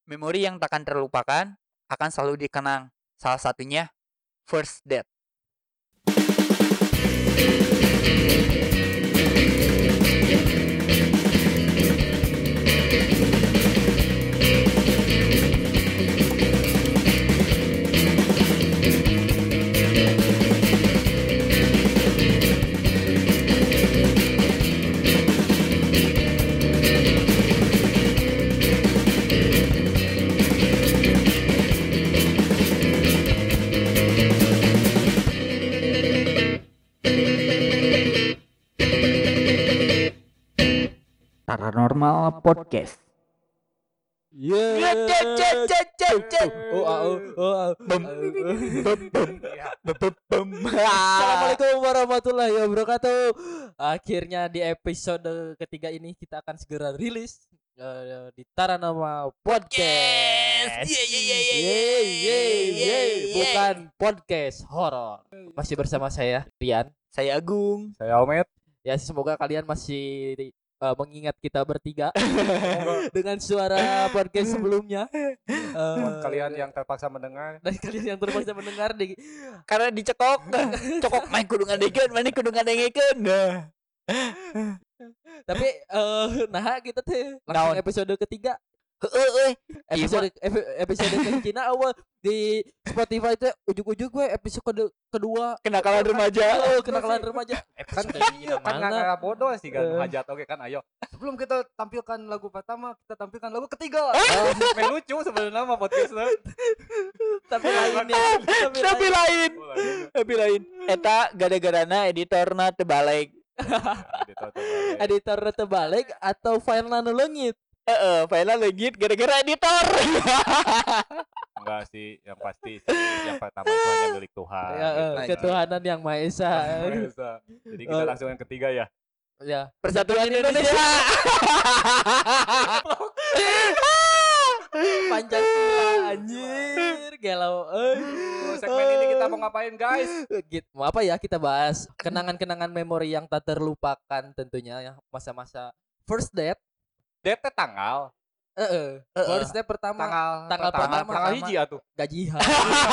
Memori yang takkan terlupakan akan selalu dikenang. Salah satunya first date. Paranormal Podcast. Assalamualaikum warahmatullahi wabarakatuh. Akhirnya di episode ketiga ini kita akan segera rilis di Paranormal Podcast. Bukan podcast horor. Masih bersama saya Rian, Saya Agung. Saya Omet. ya semoga kalian masih mengingat kita bertiga dengan suara podcast sebelumnya. Buat kalian yang terpaksa mendengar, Dan kalian yang terpaksa mendengar di Karena dicekok, cokok main kudu ngadengekeun, mana kudu ngadengekeun. tapi nah kita teh Naon? langsung episode ketiga. Heeh. Episode kecina awal di Spotify teh ujug-ujug gue episode kedua Kenakalan remaja. kenakalan remaja. kan mana? nggak bodoh sih kan hajat oke kan ayo. Sebelum kita tampilkan lagu pertama, kita tampilkan lagu ketiga. Main lucu sebenarnya mah podcastnya. Tapi lain ya. Tapi lain. Eta gara-garana editorna teu balik. Editor terbalik atau file nanu leungit. File legit gara-gara editor. Enggak sih, yang pasti sih yang pertama itu hanya milik Tuhan. Ya, gitu. ketuhanan yang Maha Esa. Biasa. Jadi kita langsung yang ketiga ya. Ya. Persatuan Indonesia. Pancasila anjir, galau. Segmen ini kita mau ngapain guys? Gitu. Mau apa ya kita bahas kenangan-kenangan memori yang tak terlupakan tentunya ya, masa-masa first date. Date tanggal First date pertama tanggal pertama tanggal hiji atuh. gajian.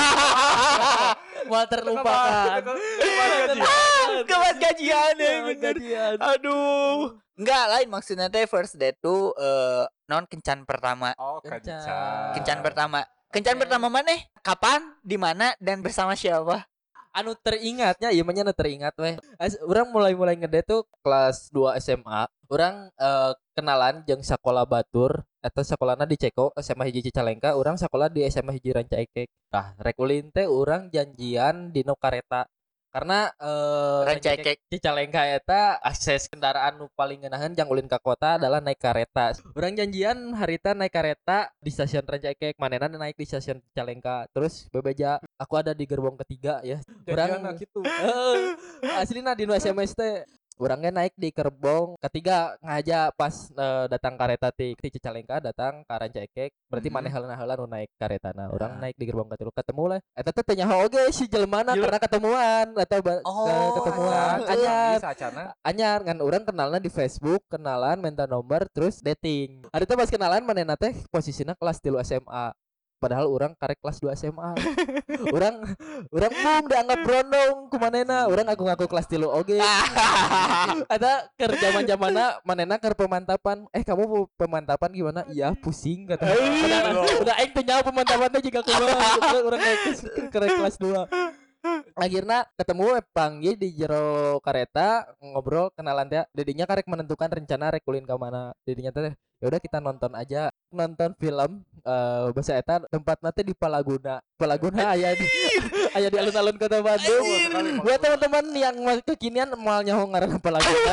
Mau terlupakan. Kemas gajian ya bener. Gajian. Aduh. Enggak lain maksudnya teh first date tuh non kencan pertama. Oh, Kencan. Kencan pertama. Kencan pertama mana? Kapan? Di mana? Dan bersama siapa? Anu teringatnya ieu mah nya teringat weh. Urang mulai ngedate tuh kelas 2 SMA. Urang kenalan jeung sakola batur atau sakolana di Ceko SMA hiji Cicalengka, urang sakola di SMA hiji Rancaikek. Tah rek ulin teh urang janjian di nu kareta. Karena Rancaikek Cicalengka eta akses kendaraan nu paling ngeunaheun jang ulin ka kota adalah naik kareta. Urang janjian harita naik kareta di stasiun Rancaikek, manehna naik di stasiun Cicalengka. Terus bebeja aku ada di gerbong ketiga ya. Urang gitu. Aslina di nu SMS teh urangnya naik di gerbong ketiga ngaja pas datang kareta ti Cicalengka datang ka Rancaikek. Berarti manehna nu naik karetana. Urang naik di gerbong ketilu ketemu lah. Eta teh nyaho oge si jelemana karena ketemuan atau ketemuan anyar ngan urang kenalna di Facebook, kenalan minta nomor terus dating. Ari teh pas kenalan manehna teh posisina kelas 3 SMA. Padahal orang karek kelas 2 SMA. Orang dianggap brondong ku manehna. Urang ngaku kelas 3 oge. Ada keur zaman-zamanna manehna keur pemantapan. Kamu pemantapan gimana? Iya, pusing kata. Udah aing teh nyaho pemantapan teh jiga kumaha. Urang karek kelas 2. Akhirnya ketemu panggil di jero kareta ngobrol kenalan teh. Dedinya karek menentukan rencana rek ulin ka mana. Dedinya teh ya udah kita nonton aja, nonton film bahasa eta tempatnya teh di Palaguna aya di alun-alun Kota Bandung. Buat teman-teman yang kekinian moal nyaho ngaranna Palaguna.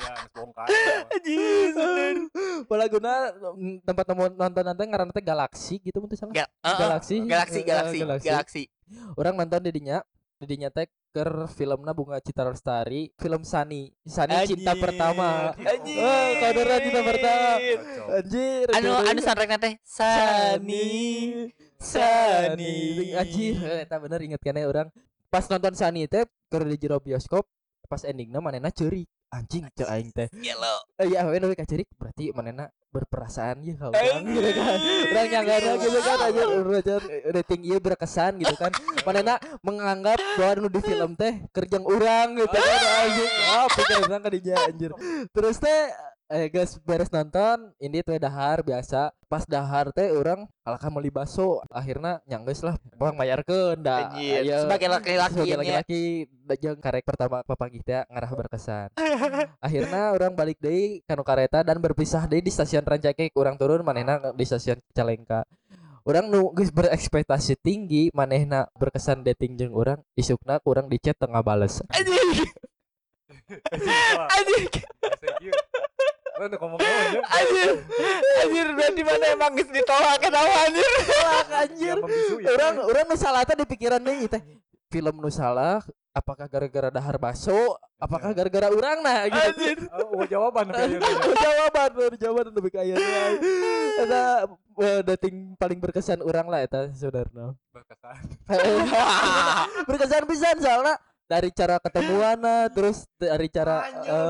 Palaguna tempat nonton ngaranna teh Galaxy gitu mun teh salah. Galaxy. Orang nonton didinya teh keur filmna Bunga Citra Lestari, film Sani Cinta Pertama. Kaudara Cinta Pertama. Anjir. Anu soundtrackna teh Sani. Anjir, eta bener inget keneh urang. Pas nonton Sani teh keur di jero bioskop, pas endingna manehna ceurik. anjing cek aing teh. Gelo. Ya we ka cerik berarti manehna berperasaan ya ka urang gitu kan. Urang nyanggana gitu kan aja rating ieu berkesan gitu kan. Manehna menganggap bahwa nu di film teh kerjang urang gitu kan anjing. Pikir urang ka dinya anjir. Terus teh guys beres nonton ini teh dahar biasa pas dahar teh orang alaka meuli baso akhirnya nyanggeus lah orang mayarkeun da Anjir. aya Sebagai laki-laki sebagai nya. laki-laki jeung karek pertama papagih teh ngarah berkesan. Akhirnya orang balik deui kanu kareta dan berpisah deui di stasiun Rancaikek. Urang turun manehna di stasiun Cicalengka. Urang nu geus berekspektasi tinggi manehna berkesan dating jeung urang isukna urang di chat tengah bales. Anjing. Anjing. Lo udah ngomong aja. Anjir berarti mana emang geus ditolak kenapa anjir? Tolak anjir. Ya, Urang nu salah teh di pikiran deui teh. Film nu salah apakah gara-gara dahar baso? Apakah gara-gara urang nah gitu. Anjir. Oh, jawaban kayaknya. Jawaban lebih kaya eta dating paling berkesan urang lah eta saudara. Berkesan. Berkesan pisan soalnya dari cara ketemuanna terus dari cara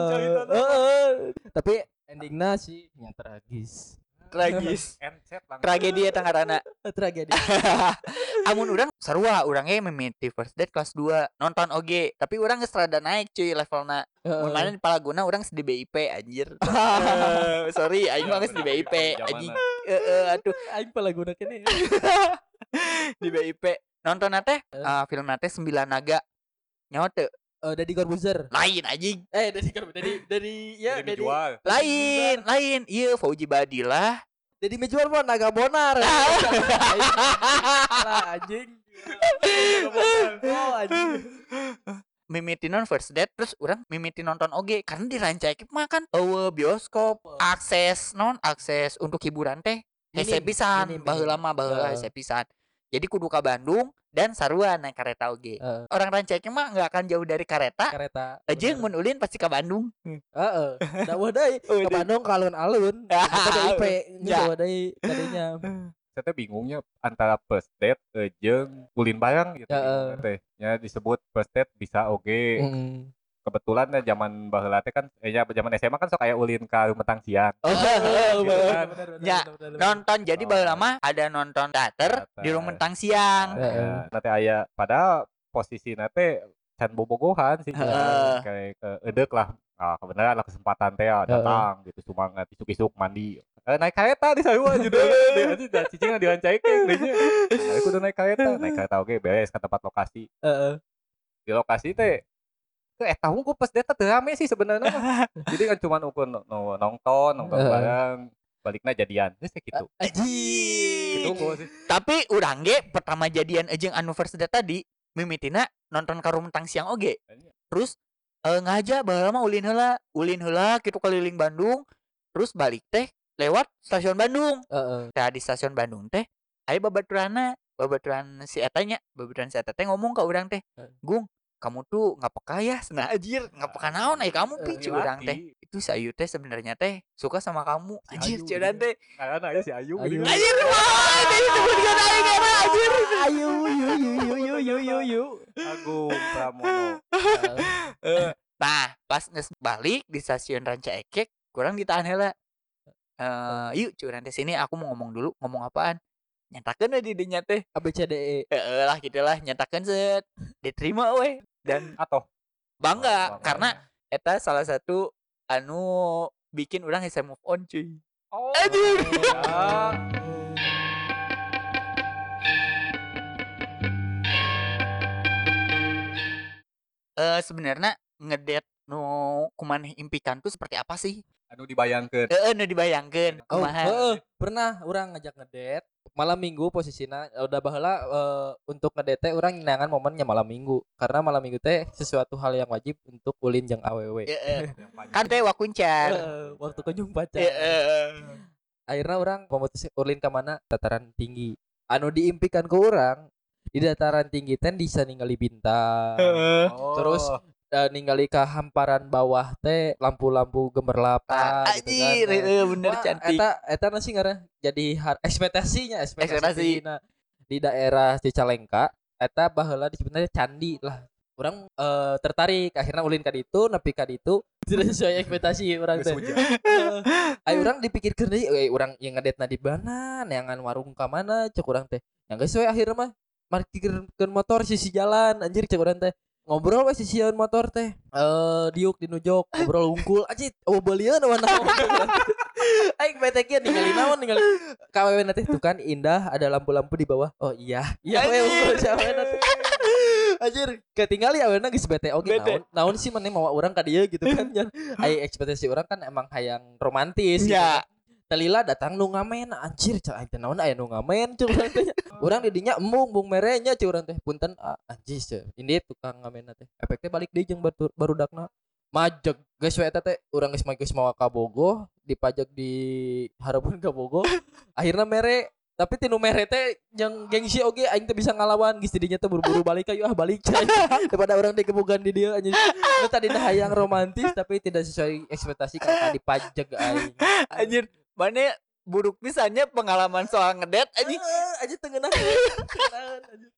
tapi endingnya sih yang tragis. Tragis. Tragedi eta ngaranna. Tragedi. Amun urang sarua urang ge mimiti first date kelas 2 nonton oge tapi urang geus rada naik cuy levelna. Mun mana di palaguna urang di BIP anjir. Sorry aing mah geus di BIP anjing. Aduh Aing palaguna kene. di BIP nonton teh film teh 9 Naga. Nyawa teu Deddy Corbuzier. lain anjing. Dari ya Jadi Deddy. jual. Lain. Ieu Fauji Badillah. Deddy Mijuar mah naga bonar. Lah anjing. Oh anjing. Mimiti non first date terus urang mimiti nonton oge karena di Rancaikek mah kan bioskop akses untuk hiburan teh hese pisan baheula mah baheula hese pisan. Jadi kudu ka Bandung dan sarua naik kereta oge. Orang Rancaikek mah enggak akan jauh dari kereta. Jeung mun ulin pasti ka Bandung. Heeh. Da deui ke Bandung ka alun-alun. Eta DIP nya deui tadinya. Saya teh bingungnya antara first date jeung ulin bareng gitu. Teh nya disebut first date bisa oge. Kebetulan ya zaman baheula teh kan zaman SMA kan sok aya ulin ka Rumetang Siang. Ya, nonton jadi baheula mah ada nonton teater di Rumetang Siang. Nanti aya pada posisi teh can bobogohan sih kayak edek lah. Kebenaran lah kesempatan teh datang gitu semangat isuk-isuk mandi. Naik kereta di sarua judulnya dia cicing di Rancaikek dehnya. Aku udah naik kereta oge beres ke tempat lokasi. Di lokasi teh eta hungkul pas data teu rame sih sebenarnya. Jadi kan cuma ukur nonton bareng baliknya jadian. Geus kitu. Anjing. Gitu sih. Tapi urang ge pertama jadian jeung anu first date tadi mimitina nonton ka Rumetang Siang oge. Terus ngaja baheula mah ulin heula kitu keliling Bandung. Terus balik teh lewat stasiun Bandung. Tah di stasiun Bandung teh aya babaturan si eta teh ngomong ka urang teh, "Gung, kamu tuh nggak peka ya senah anjir nggak peka naon kamu picu urang teh itu si Ayu teh sebenarnya teh suka sama kamu anjir curan teh Karena aja si Ayu. anjir wah disebutkan aing karena anjir Ayu yu. Agung Pramono. nah pas nges balik di stasiun Rancaikek kurang ditahan heula yuk curan teh sini aku mau ngomong dulu ngomong apaan nyatakan di dinya teh ABCDE lah gitulah nyatakan set diterima we dan Atau bangga karena eta salah satu anu bikin orang bisa move on cuy. Anjir. Sebenarnya ngedate nu kumaneh impikan tuh seperti apa sih? anu dibayangkeun. Nu dibayangkeun kumaha. Pernah orang ngajak ngedate malam minggu posisinya udah baheula untuk ngedate orang nyangan momennya malam minggu karena malam minggu teh sesuatu hal yang wajib untuk ulin jeung awewe. Kan teh wakuncar. Waktu kunjung pacar. Akhirnya orang memutuskan ulin ke mana dataran tinggi. Anu diimpikan ke orang di dataran tinggi teh bisa ningali bintang. Terus ningali ke hamparan bawah teh lampu-lampu gemerlap gitu kan. Bener cantik. Eta nasi ngaran jadi ekspektasi di daerah Cicalengka eta baheula disebutna candi lah. Orang tertarik akhirnya ulin ka ditu nepi ka ditu tidak sesuai ekspektasi orang teh. Ayo orang dipikirkeun deui urang yang ngedetna di mana neangan warung ka mana cek urang teh. Yang geus we akhirnya mah parkirkeun motor sisi jalan anjir cek urang teh. Ngobrol we sisieun motor teh. Diuk di nujok ngobrol unggul anjir beulieun mana. Aing betekeun ningali naon ningali KWW teh tuh kan indah ada lampu-lampu di bawah. Oh iya. Iya we unggul siapa teh. Anjir, ketinggali aweuna geus bete oge naon sih maneh mawa urang ka dieu gitu kan. Ai ekspektasi urang kan emang hayang romantis gitu. Ya. Telila datang nu ngamen anjir cak aing teh naon aya nu ngamen cuk urang teh. Urang di dinya embung merenya cuk urang teh. Punten anjir cak. Ini tukang ngamenna teh. Efek teh balik deui jeung barudakna. Majeg geus we eta teh urang geus mawa ka Bogo, dipajak di Harapan ka Bogo. Akhirna mere tapi tinu mere teh yang gengsi oge aing teh bisa ngalawan geus didinya teh buru-buru balik ayo balik cai daripada orang dikebugan di dieu anjing nu tadina hayang romantis tapi tidak sesuai ekspektasi karena dipajak aing Anjir, mana buruk pisannya pengalaman soal ngedet anjing. anjing teu ngeunah anjing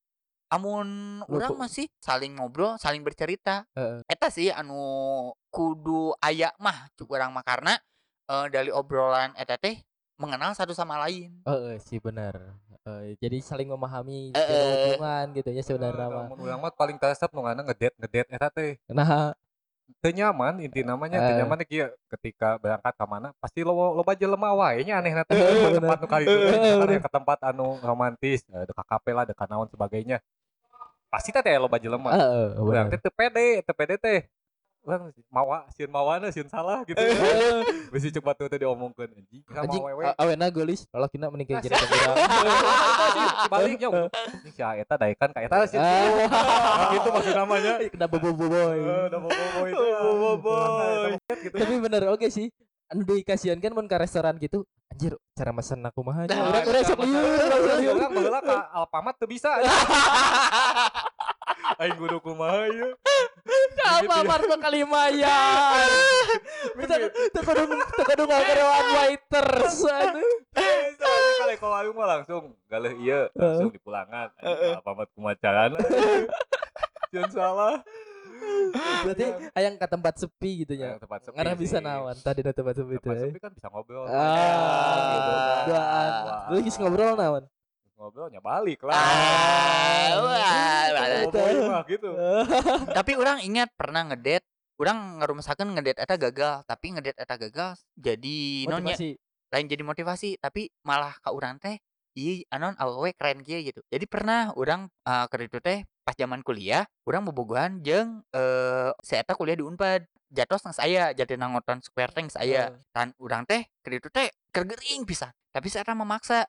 Amun Lu urang kok- masih saling ngobrol, saling bercerita. Heeh. Eta sih anu kudu aya mah cuk urang mah karena dari obrolan eta teh mengenal satu sama lain. sih benar jadi saling memahami Heeh. hubungan gitu ya sebenarnya mah Mun urang mah paling teresep nu ngana ngedet eta teh. nah Teu nyaman inti namanya teu nyaman kieu ketika berangkat ka mana pasti loba jelema wae nya anehna teh tempat nu kali itu misalkan ke tempat anu romantis dekat kafe lah dekat naon sebagainya pasti teh loba jelema urang teh teu pede teh urang sieun mawana sieun salah gitu bisi cepat tuh teh diomongkeun anjing anjing mau wewe awena geulis lalakina mending jeung urang sebaliknya anjing si eta daekan ka eta sih gitu maksud namanya kena boboiboy udah bobo itu gitu tapi bener oke sih anu dikasihan kan mun ka restoran gitu anjir cara mesen aku mah aja Nah, urang sok lieur orang baheula ka Alfamart teu bisa aing kudu kumaha ieu apa marto kalimayan teu kudu ngagerewan waiters aduh kalau kalau aing mah langsung galeh ieu langsung dipulangan Alfamart kumacaran jangan salah berarti hayang ke tempat sepi gitu ya tempat sepi ngarah bisa sih. nawan tadi di tempat sepi itu tempat sepi kan bisa ngobrol gitu duaan lu geus ngobrol nawan ngobrolnya balik lah Wah, Boboiboy mah gitu tapi orang ingat pernah ngedet, orang ngerumasakeun ngedet eta gagal, tapi ngedet eta gagal jadi non nya motivasi lain jadi motivasi, tapi malah ka urang teh ieu anon awewe keren kieu gitu. Jadi pernah urang keur ditu teh pas zaman kuliah, urang bobogohan jeung si eta kuliah di Unpad. Jatos nang saya, Jatinangor Ngoton Square teh geus aya. Tan urang teh keur ditu teh keur geuring pisan. Tapi si eta memaksa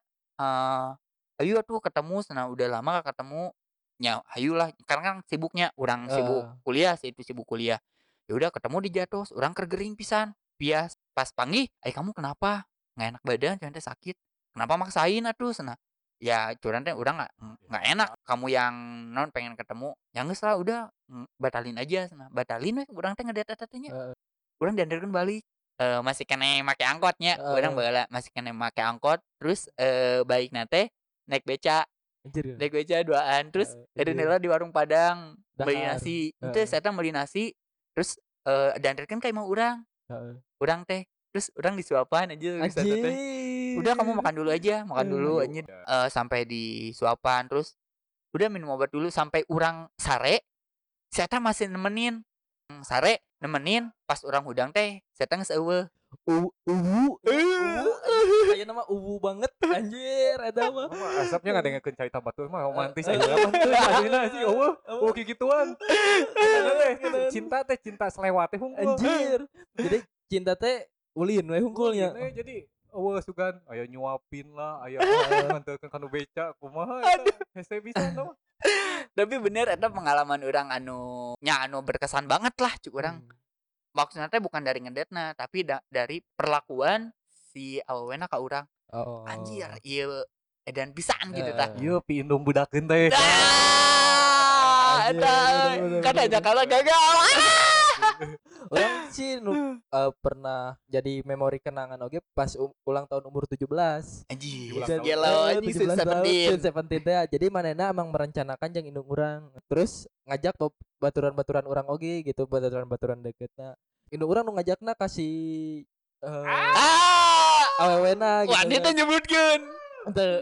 ayo atuh ketemu cenah udah lama gak ketemu. Nya hayulah karena kan sibuknya urang sibuk kuliah, si itu sibuk kuliah. Ya udah ketemu di Jatos, urang keur geuring pisan. Bias pas panggih, kamu kenapa? Nggak enak badan, cuman teh sakit. Kenapa maksain atuh cenah? Ya cuman teh urang nggak enak. Kamu yang non pengen ketemu, ya geus lah udah batalin aja cenah. Batalin we urang teh ngedet eta teh nya. Urang diantarkeun balik. Masih kene make angkotnya. Urang baheula masih kene make angkot. Terus baikna teh naik beca. anjir Naik beca duaan. Terus edeunela di warung Padang beli Dahar. nasi. Henteu saya beli nasi. Terus diantarkeun ka imah urang. Urang teh terus urang disuapan aja anjir udah kamu makan dulu aja makan dulu anjir sampai disuapan terus udah minum obat dulu sampai urang sare saya masih nemenin sare nemenin pas urang hudang teh saya geus eueuh uwu aya nama uwu banget anjir eta mah asapnya nggak ada yang cari tambah tuh mah romantis aja apa tuh aslinya sih oh kayak gituan cinta teh cinta selewat teh hungkul anjir jadi cinta teh ulin we hungkulnya jadi sugan aya nyuapin lah aya nganterkeun kanu beca kumaha eta hese bisa no tapi bener eta pengalaman urang anu berkesan banget lah cuk urang maksudnya teh bukan dari ngedetna tapi dari perlakuan si awewena ka urang anjir ieu edan pisan gitu tah ieu piindung budakeun teh eta katanya kalau gagal orang sih pernah jadi memori kenangan oke pas ulang tahun umur 17 anjir Ulang gelo anjing 17 tahun Seventeen 17 teh jadi manehna emang merencanakan jeung indung urang terus ngajak baturan-baturan orang oge gitu, baturan-baturan deketna. Indung urang nu ngajakna kasih awewena gitu. Wanita nyebutkeun. Teu.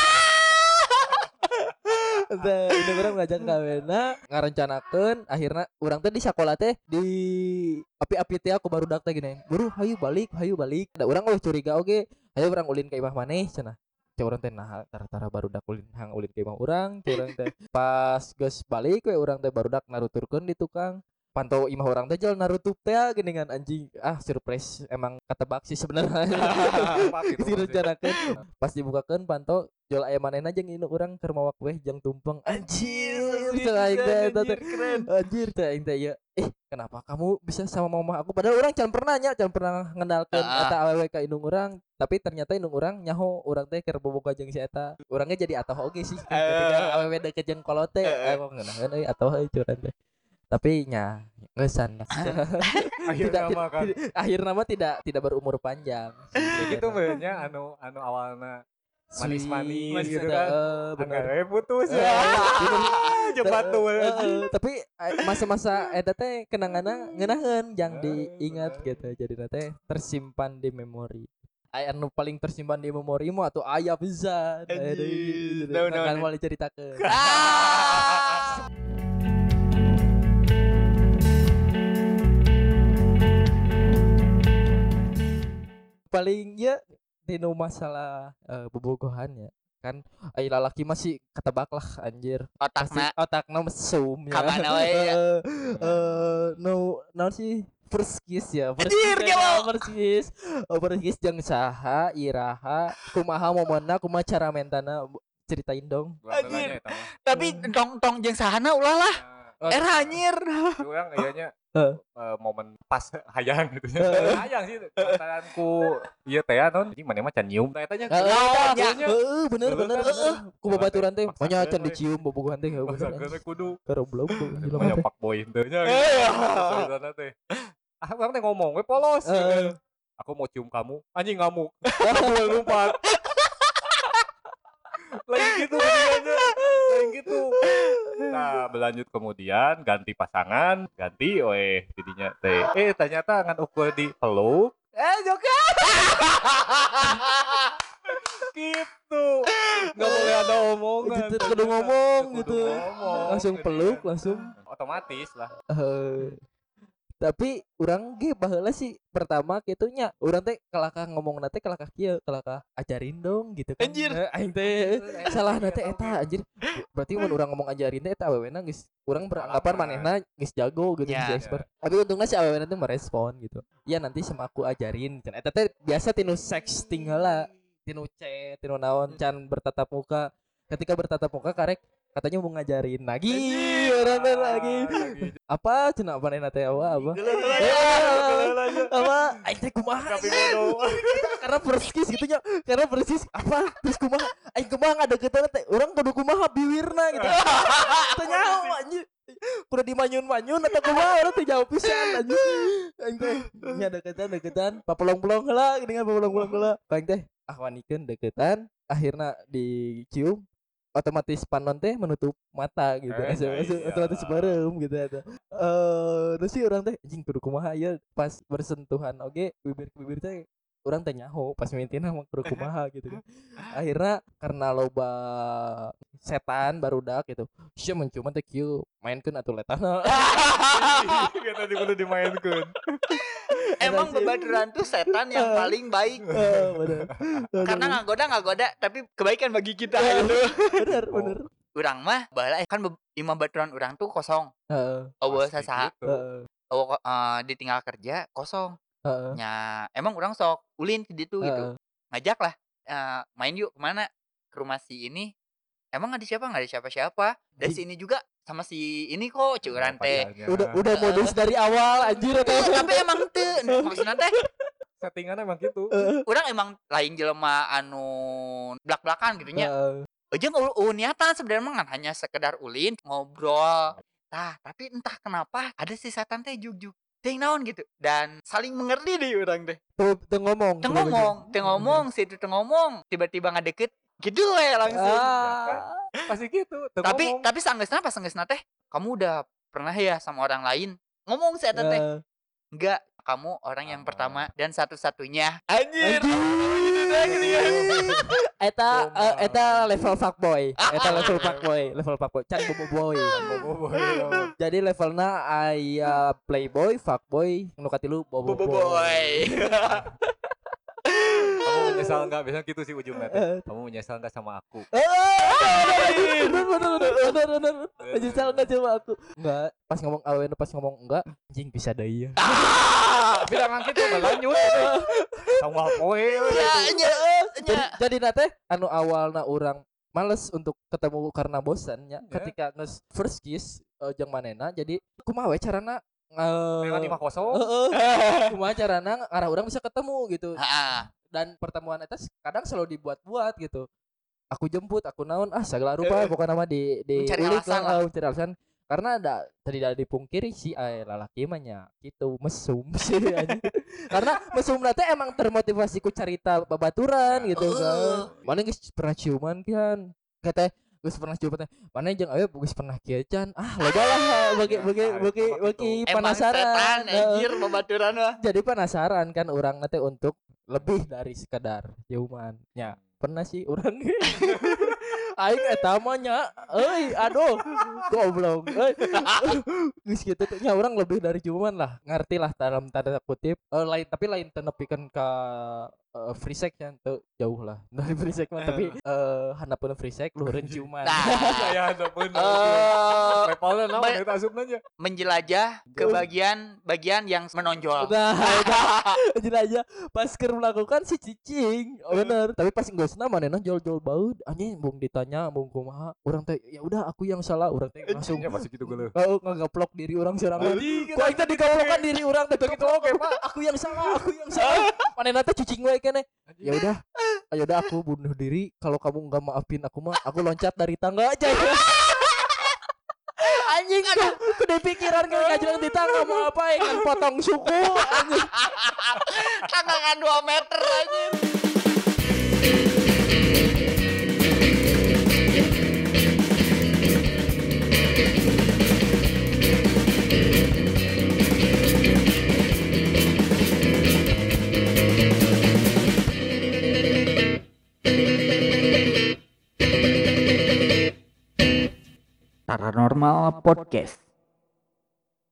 Indung urang ngajak kawena, ngarencanakeun akhirna urang teh di sakola teh di api-api teh aku barudak teh gini. Buru hayu balik. Da urang eueuh curiga oge, hayu urang ulin ka imah maneh cenah. Cek urang teh nah tara-tara barudak ulin ke imah urang, cek urang teh. Pas geus balik we urang teh barudak naruturkeun di tukang. Pantau imah orang teh jalan narutup teh geningan anjing surprise emang ketebak sih sebenarnya direncanakeun pas dibukakeun pantau jual aya manehna jeung indung urang keur mawa kue jeung tumpeng anjir aing teh anjir teh aing teh ya kenapa kamu bisa sama mama aku padahal orang can pernah ngendalkeun eta awewe ka indung urang tapi ternyata indung urang nyaho urang teh keur bobogoh jeung si eta urangnya jadi atoh oge sih ketika awewe deket jeung kolot teh aku ngeunaheun euy atoh euy curang teh tapi nya ngesan akhir nama tidak berumur panjang ya gitu benernya anu awalnya manis gitu kan agak putus ya cepat tuh tapi masa-masa eta teh kenanganna ngeunaheun jang diingat gitu jadi teh tersimpan di memori anu paling tersimpan di memori mah atuh aya pisan kan mau diceritakeun paling ya dino masalah bobogohan ya kan ai lalaki masih ketebak lah anjir otakna mesum ya kamana we no sih first kiss jeung saha iraha kumaha momenna kumaha cara mentana ceritain dong anjir tapi tong jeung sahana ulah lah era anjir urang ianya momen pas hayang gitu hayang sih pantaranku ieu teh non anjing maneh mah can nyium tah eta nya bener ku babaturan teh manya can dicium bobogohan teh bener kudu karoblok manya pak boy teh nya sana teh urang teh ngomong we polos aku mau cium kamu anjing ngamuk lompat lain gitu nah berlanjut kemudian ganti pasangan jadinya teh ternyata ngan ukur di peluk Joka gitu nggak boleh ada omongan kudu ngomong gitu langsung peluk langsung otomatis lah tapi urang ge baheula sih pertama kitunya urang teh kalakah ngomongna teh kalakah kieu kalakah ajarin dong gitu kan anjir aing teh salahna teh eta anjir berarti mun urang ngomong ajarin teh eta awewena geus urang beranggapan manehna geus jago gitu geus expert tapi untungna si awewena teh merespon gitu ya nanti sama aku ajarin can eta teh biasa tinu sexting heula tinu chat tinu naon can bertatap muka ketika bertatap muka karek katanya mau ngajarin lagi orang lagi apa cenah panenna teh apa aing teh kumaha karena persis gitu nya karena persis apa terus kumaha aing kumaha ngadeukeutan teh urang kudu kumaha biwirna gitu teh nyaho anjir kudu dimanyun-manyun atau kumaha urang teh jawab pisan anjir aing teh nya deketan papelong-pelong heula geuningan papelong-pelong heula aing teh wanikeun deketan akhirna dicium otomatis panon teh menutup mata gitu otomatis barem gitu eta terus sih orang teh anjing kudu kumaha ya pas bersentuhan oge bibir ke bibir teh orang teh nyaho pas mintina mah kudu kumaha gitu kan akhirnya karena loba setan barudak gitu sia menciuman teh kieu mainkeun atuh letana kita kudu dimainkeun emang babaturan tuh setan yang paling baik karena ngagoda tapi kebaikan bagi kita gitu bener urang mah baheula kan imah baturan urang tuh kosong eueuh sasaha ditinggal kerja kosong nya emang urang sok ulin ke ditu gitu ngajak lah main yuk kemana ke rumah si ini emang nggak ada siapa dari sini juga sama si ini kok curan teh udah modus dari awal anjir tapi emang teu maksudna teh settingan emang gitu urang emang lain jelema anu blak-blakan gitu nya jeung niatan sebenarnya mah hanya sekedar ulin ngobrol tapi entah kenapa ada si setan teh juk ting naon gitu dan saling mengerti deh urang teh teu ngomong situ teu ngomong tiba-tiba ngadeket gitu langsung pasti gitu tapi sanggeusna teh kamu udah pernah ya sama orang lain? Ngomong saya teh. Eh, Enggak, kamu orang yang Sama. pertama dan satu-satunya. Anjir. Eta level fuckboy. Eta level fuckboy. Can bobo boy. Jadi levelna aya playboy, fuckboy, nu katilu bobo Bobo boy. boy. Kamu menyesal nggak? Biasanya gitu sih ujungnya teh. Kamu menyesal nggak sama aku? Bener. Menyesal enggak coba aku? Enggak, pas ngomong enggak, anjing bisa deui ya. Bilang gitu nggak lanjut. Sama poe. Jadi nate anu awalna orang males untuk ketemu karena bosannya ketika nges first kiss jeung manena jadi kumaha we carana Dengan 5-0. kumaha carana ngarah orang bisa ketemu gitu. Heeh. Dan pertemuan eta kadang selalu dibuat-buat gitu. Aku jemput, aku naon segala rupa pokoknya nama di Mencari ulik alasan lah, mencari alasan karena tidak dipungkiri si lalaki mah nya gitu mesum sih anjing. Karena mesum teh emang termotivasi ku carita babaturan gitu kan. Mana geus pernah ciuman kan? Kata geus pernah ciuman teh. Mana jeung aya geus pernah kieu can. Loba lah bagi Emang setan penasaran. anjir babaturan mah. Jadi penasaran kan orang nanti untuk lebih dari sekedar ciuman. Ya, pernah sih orang. Aing eta mah nya, aduh, goblok. Geus kitu teh nya urang lebih dari ciuman lah. Ngerti lah dalam tanda kutip. Lain tenepikeun ka free sex nya teu jauh lah. Dari free sex mah tapi handapun free sex luhureun ciuman. Nah, Saya ada pun. Levelnya naon eta asupna nya? menjelajah ke bagian yang menonjol. Nah, jadi aja pas keur melakukan si cicing, bener. Tapi pas geusna manehna jol-jol baud, anjing bung ditanya bung kumaha, urang teh ya udah aku yang salah, urang teh langsung Ya pasti gitu geuleuh. ngageplok diri urang sorangan. Ku aing teh digaplokan diri urang teh gitu oke, Pak. Aku yang salah. Manehna teh cicing we keneh. Ya udah aku bunuh diri kalau kamu enggak maafin aku loncat dari tangga aja. Anjing aduh, kudu pikiran ke ngajelang di tangga mau apa kan potong suku anjing. Tangangan 2 meter anjir. Paranormal Podcast.